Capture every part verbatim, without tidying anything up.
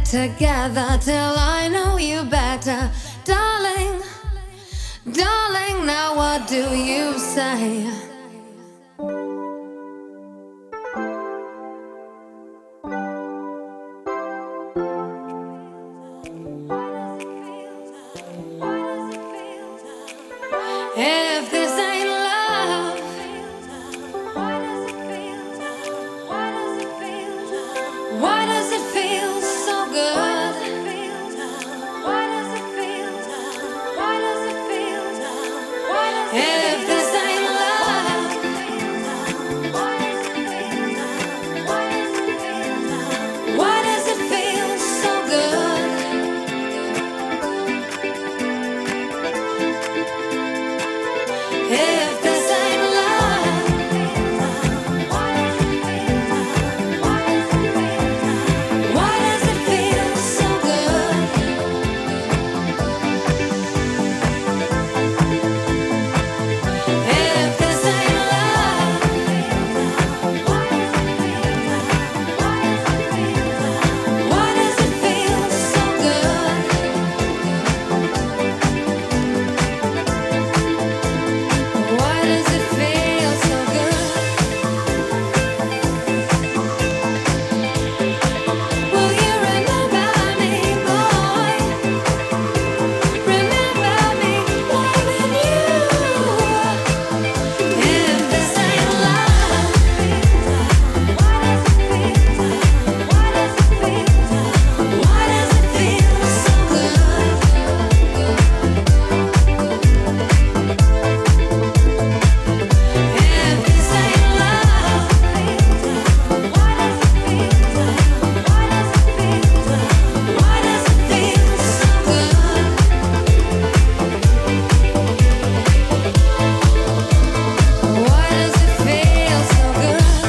together till I know you better. Darling, darling, now what do you say? If this ain't love, why does it feel so good? If this ain't love, why does it feel so good? If this ain't love, why does it feel so good? If this ain't love, why does it feel so good? Why does it feel so good? Will you remember me, boy? Remember me loving you. If this ain't love, why does it feel so good? If this ain't love, why does it feel so good? Why does it feel so good?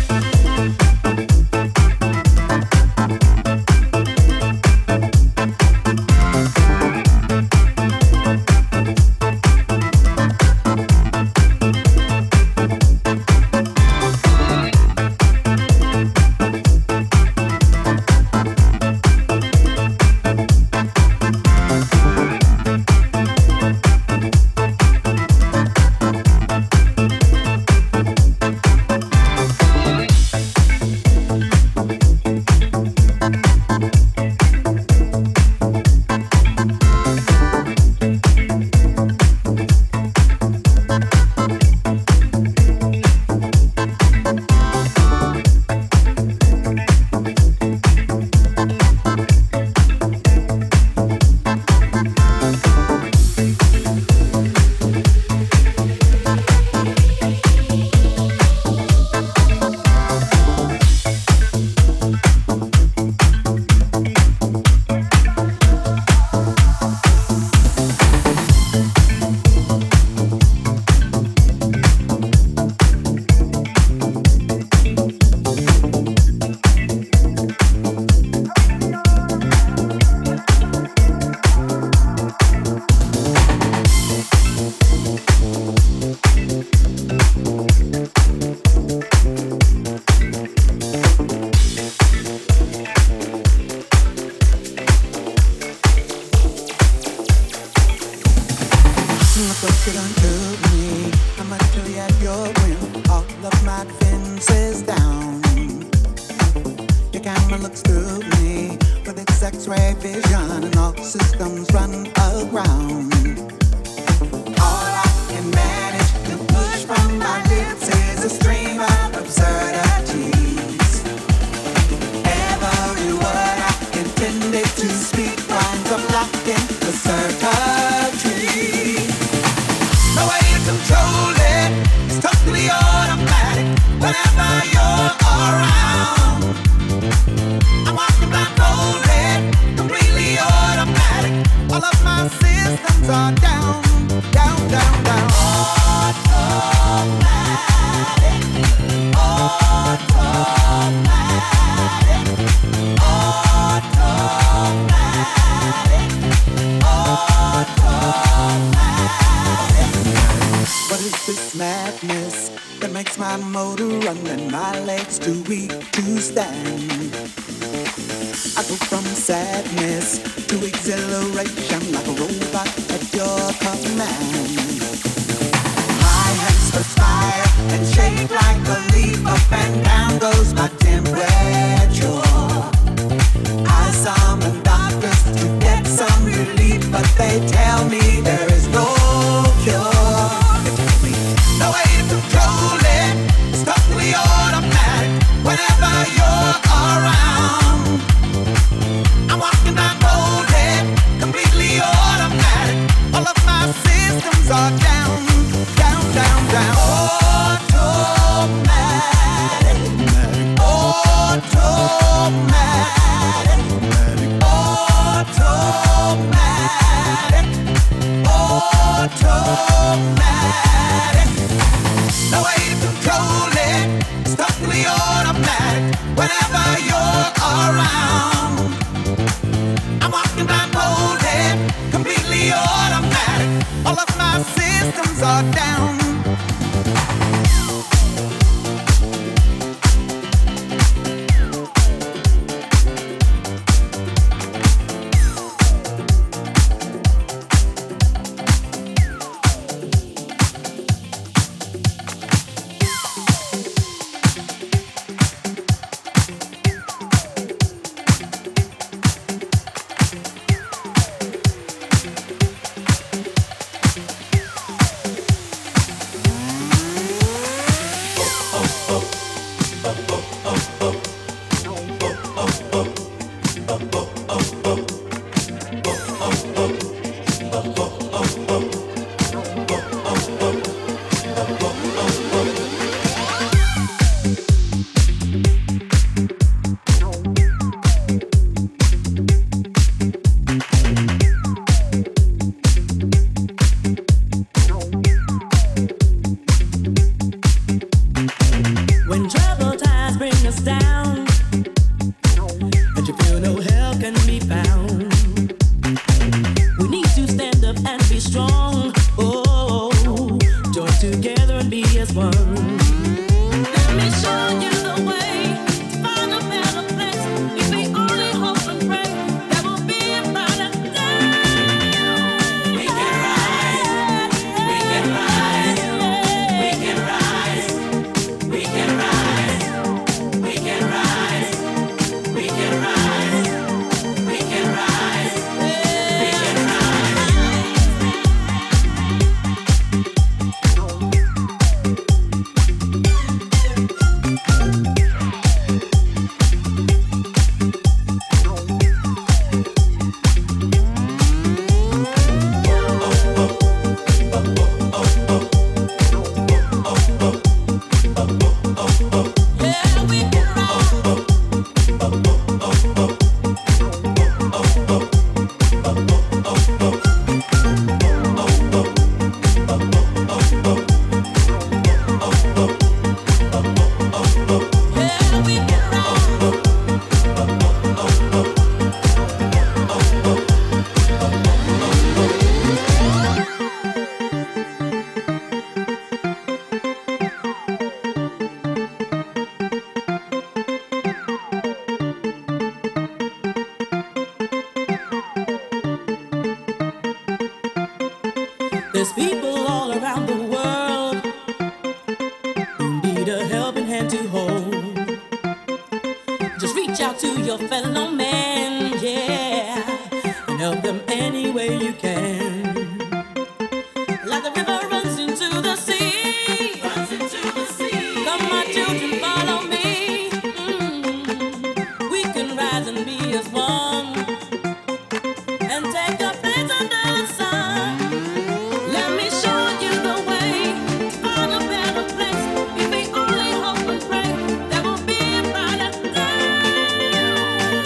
Look what you done to me. I'ma tell you at your whim. All of my defenses down. Your camera looks through me with its X-ray vision, and all systems run aground. All I can manage to push from my lips is a stream of absurdities. Every word I intended to speak winds up locked in the circuitry. No way to control it, it's totally automatic. Whenever you're around, I'm walking blindfolded, completely automatic. All of my systems are down, down, down, down. Automatic, automatic, automatic, automatic. What is this madness that makes my my motor running, my legs too weak to stand. I go from sadness to exhilaration like a robot at your command. My hands perspire and shake like a leaf, up and down goes my temperature. I summon doctors to get some relief, but they tell me there is no cure. They tell me no way to control it, it's totally automatic whenever you're around. I'm walking down road, completely automatic. All of my systems are down, down, down, down. Automatic, automatic, automatic, automatic. No way to control it, it's totally automatic whenever you're around. I'm walking blindfolded, completely automatic. All of my systems are down. There's people all around the world who need a helping hand to hold. Just reach out to your fellow man, yeah, and help them any way you can. Like the river runs into the sea, runs into the sea. Come, my children, follow me. Mm-hmm. We can rise and be as one, and take a place under the sun. Let me show you the way to find a better place. If we only hope and pray, there will be a brighter day.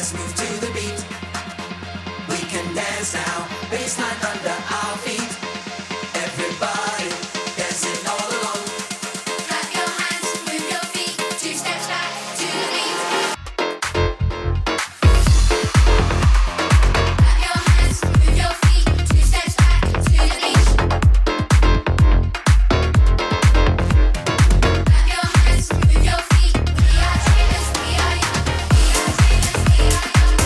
Move your feet, we are dreamers, we are young, we are dreamers, we are young.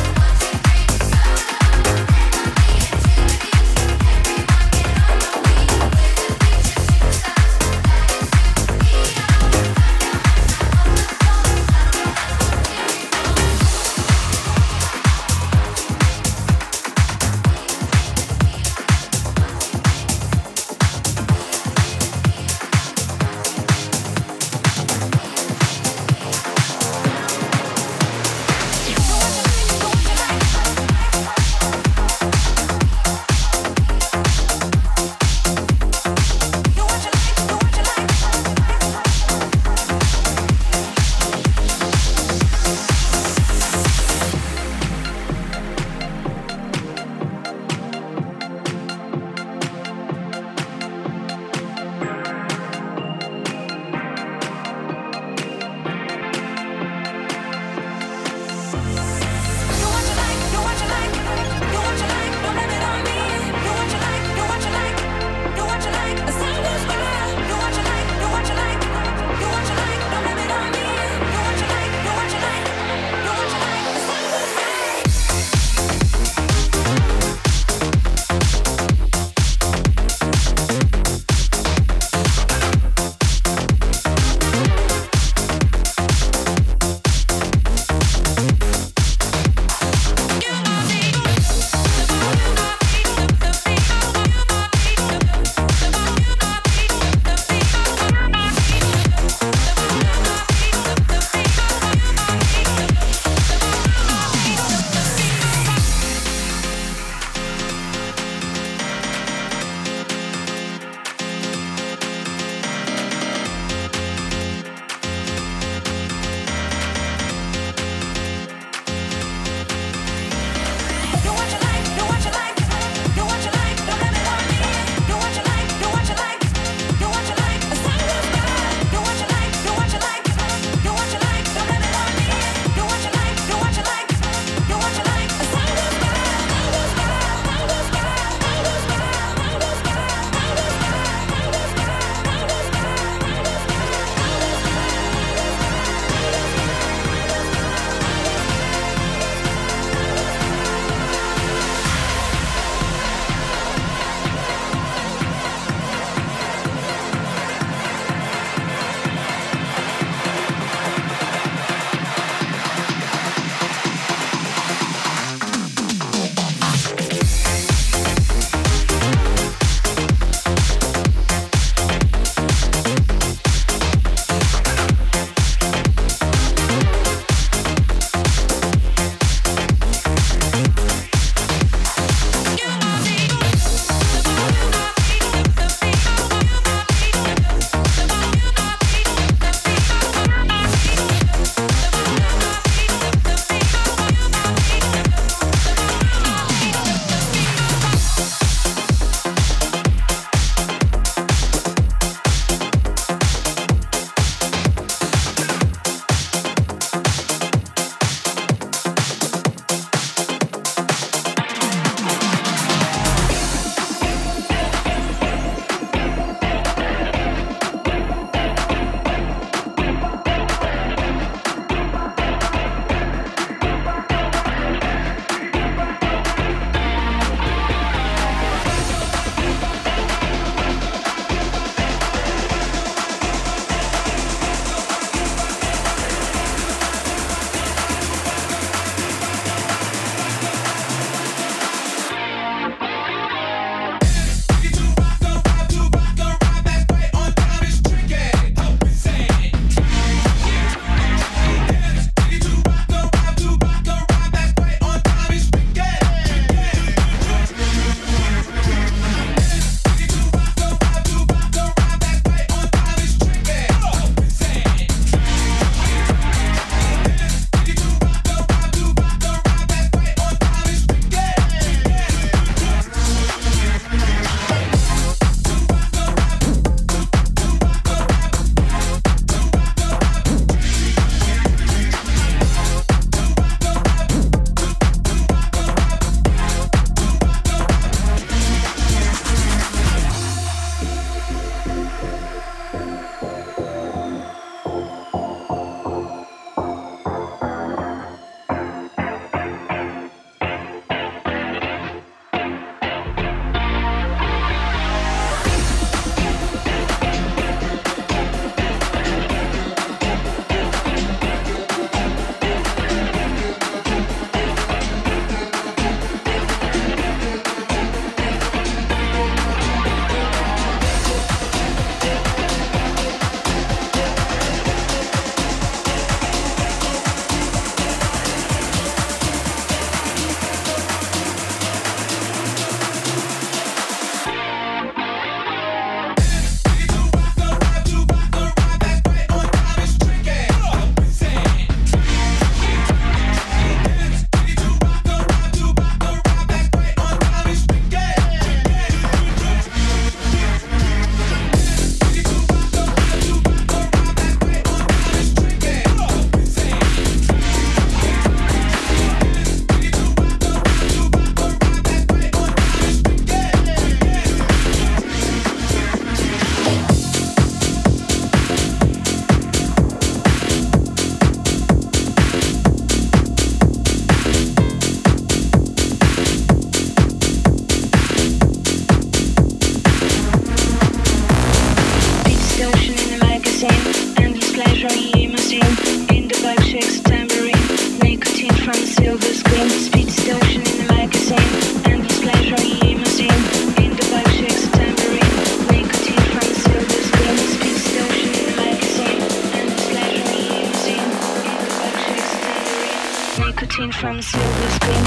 Nicotine from silver screen.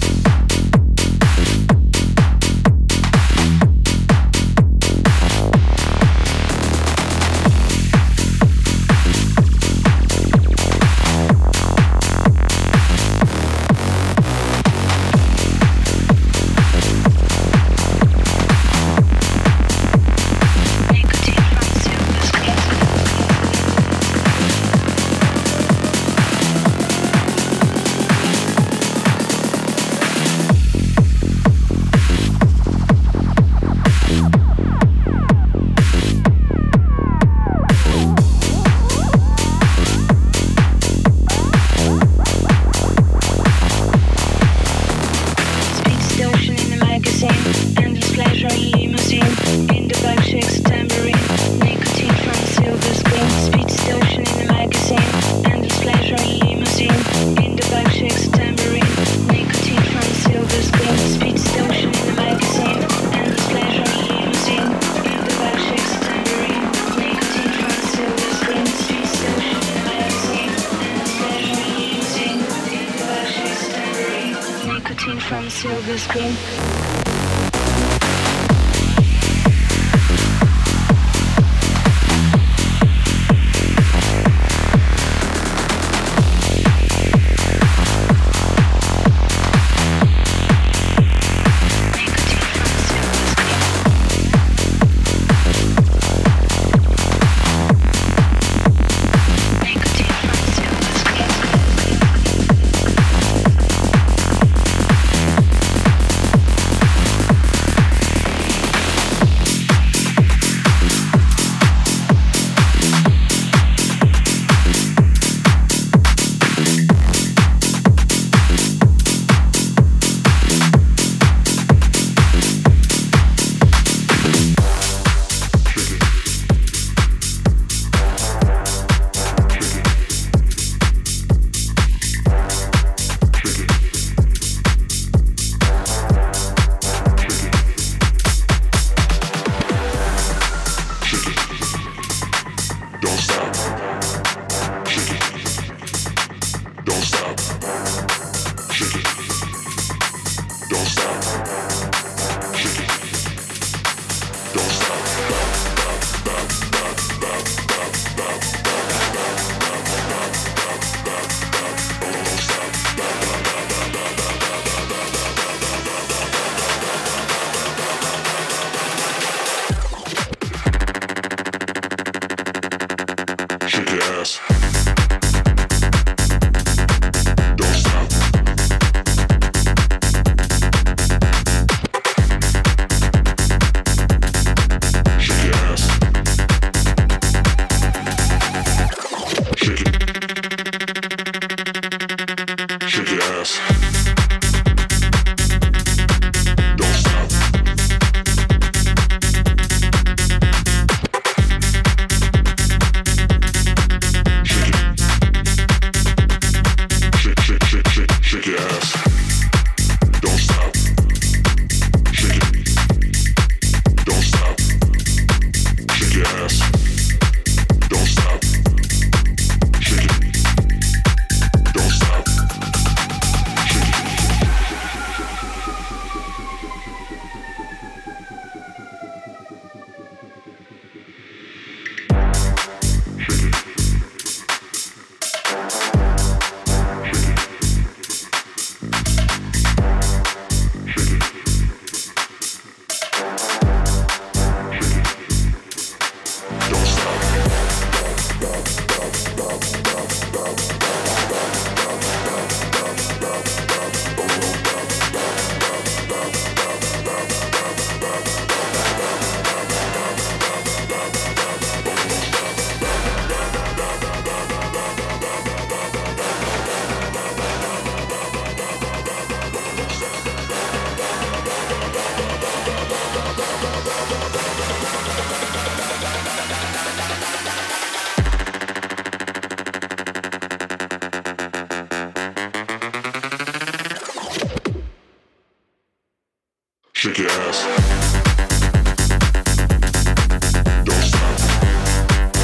Shake your ass.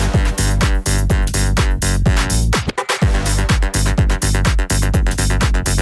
Don't stop.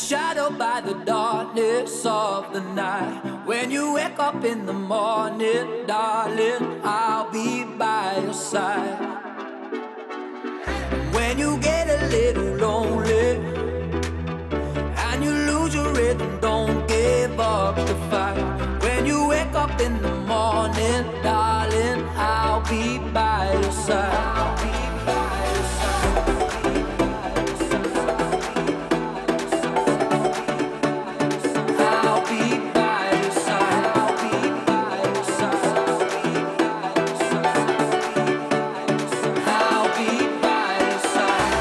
shadowed by the darkness of the night. When you wake up in the morning, darling, I'll be by your side. When you get a little lonely and you lose your rhythm, don't give up the fight. When you wake up in the morning, darling, I'll be by your side. I'll be by your side. I'll be by your side. I'll be by your side. I'll be by your side.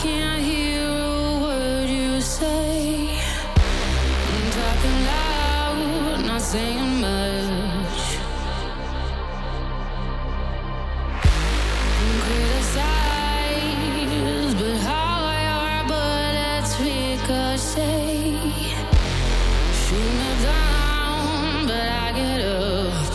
can't hear a word you say. I'm talking loud, not saying much. I'm criticized, but how your bullets ricochet. Shoot me down, but I get up.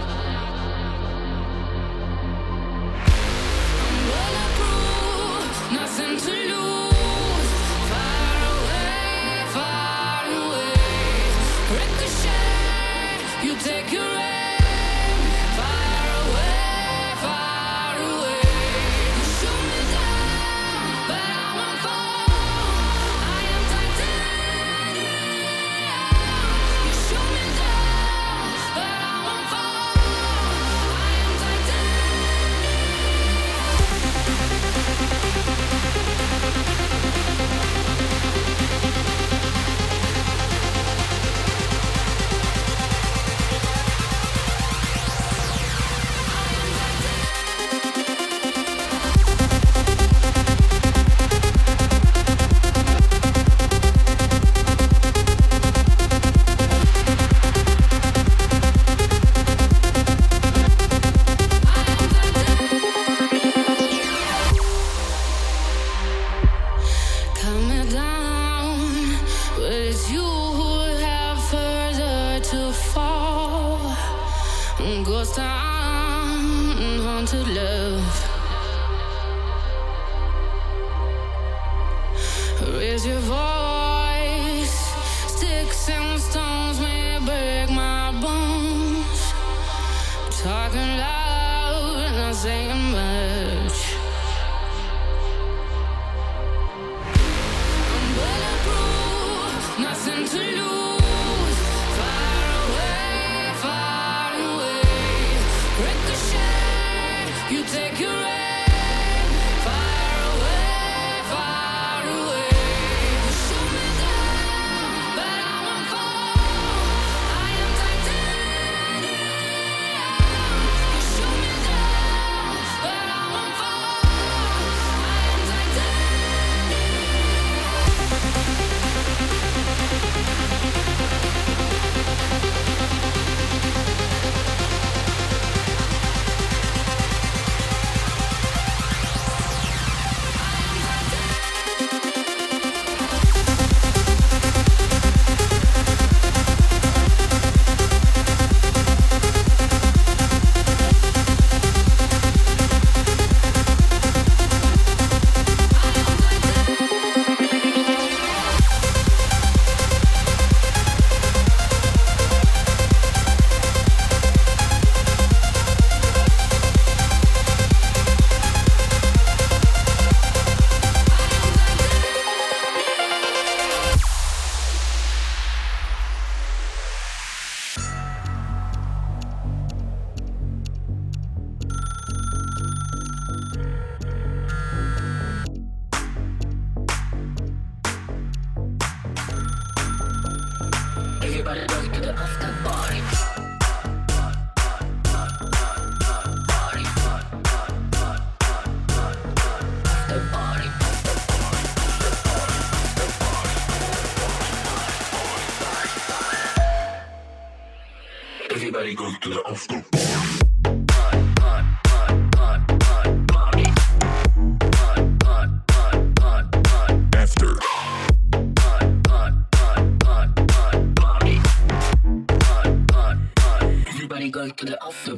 I'm bulletproof, nothing to lose. Far away, far away. Ricochet, you take your aim. Far away, far away. You shoot me down, but I won't fall. I am titanium. You shoot me down, but I won't fall. I am titanium. Cut me down, but it's you who have further to fall. Ghost town, haunted love. Raise your voice. Sticks and stones may break my bones. Talking loud, not saying much. I'm bulletproof, nothing to lose. Far away, far away. Ricochet, you take your aim. Far away, far away. You shoot me down, but I won't fall. I am titanium. You shoot me down, but I won't fall. I am titanium. Everybody goes to the after party. Party. After party. Everybody goes to the after party. After. Everybody go to the after.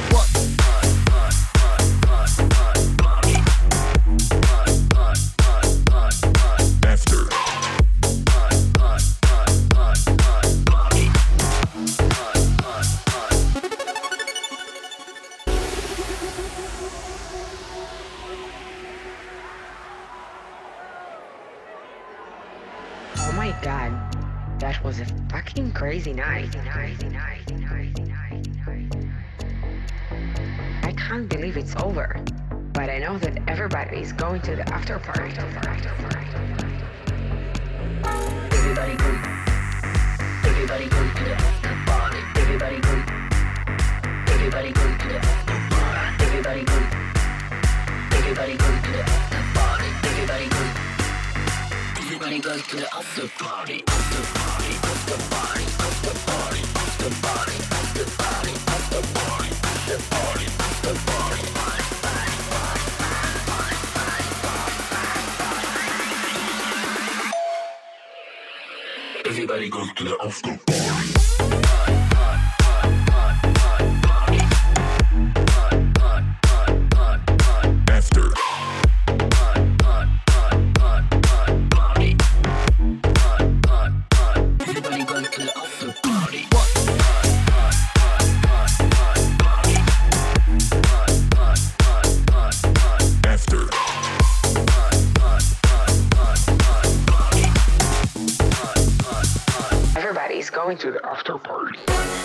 After. Oh my god, that was a fucking crazy night. I can't believe it's over, but I know that everybody is going to the after party. Everybody go. Everybody go to the after party. Everybody go. Everybody go to the after party. Everybody go. Everybody go to the after party. Everybody go. Everybody goes to the after party, after party, after party, after party, after party, after party, after party, after party, after party, party, party, party, party, party, party, party. Everybody goes to the after party. Going to the after party.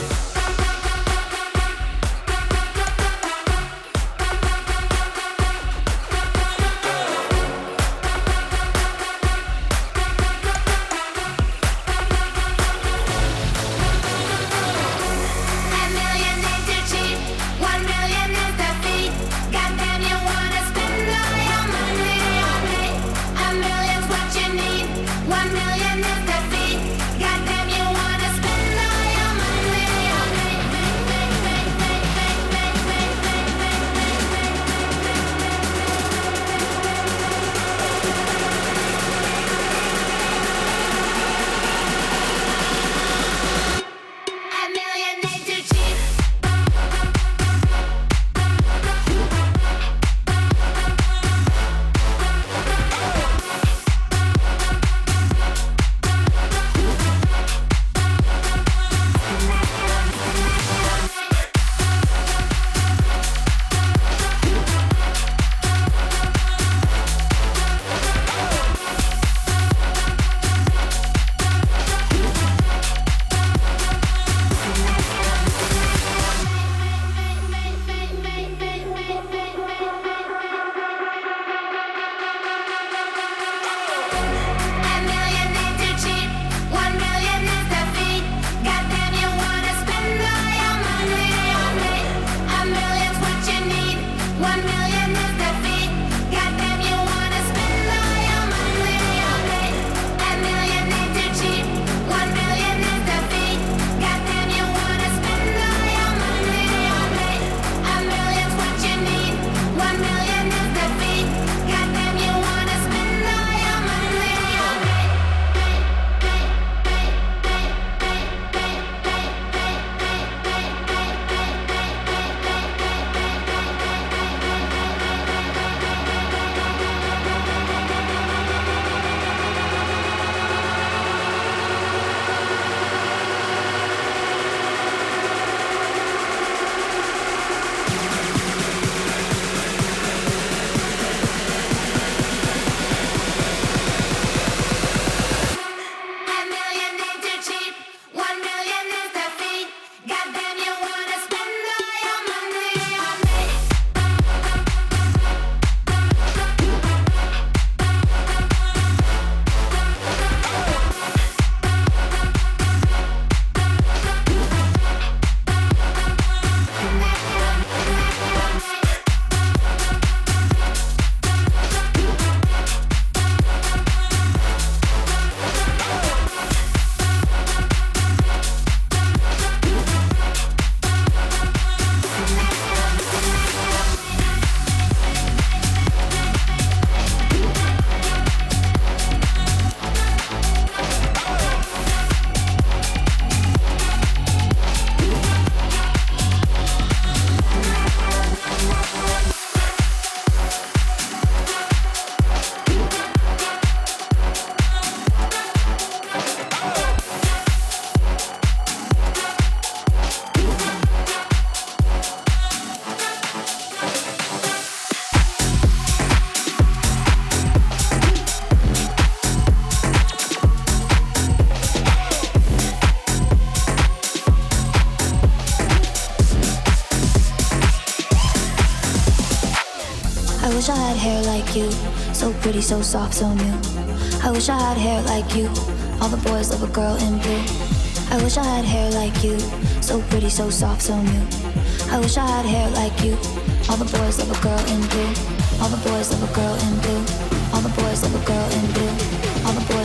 wish I had hair like you, so pretty, so soft, so new. I wish I had hair like you, all the boys love a girl in blue. I wish I had hair like you, so pretty, so soft, so new. I wish I had hair like you, all the boys love a girl in blue. All the boys love a girl in blue. All the boys love a girl in blue. All the boys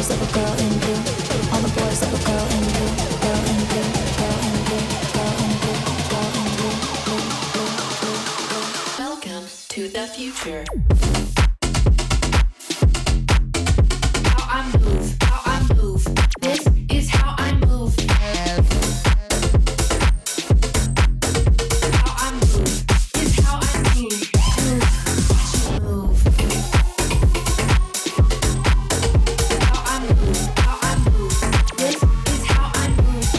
boys love a girl in blue. All the boys love a girl in blue. Girl in blue. Girl in blue. Girl in blue. Girl in blue. Blue, blue, blue, blue. Welcome to the future. How I move, how I move. This is how I move. How I move is how I move. Move, watch me move. How I move, how I move. This is how I move.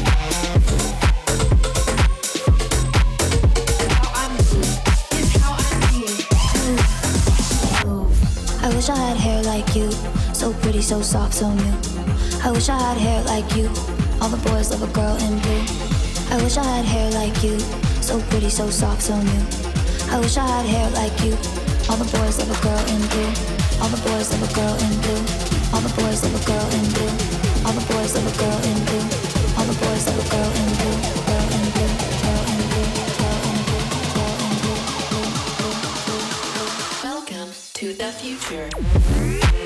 How I move is how I move. Move, watch me move. I wish I had hair like you, so pretty, so soft, so new. I wish I had hair like you. All the boys love a girl in blue. I wish I had hair like you, so pretty, so soft, so new. I wish I had hair like you. All the boys love a girl in blue. All the boys love a girl in blue. All the boys love a girl in blue. All the boys love a girl in blue. All the boys love a girl in blue. Girl in blue. Girl in blue. Girl in blue. Girl in blue. Blue, blue, blue, blue. Welcome to the future.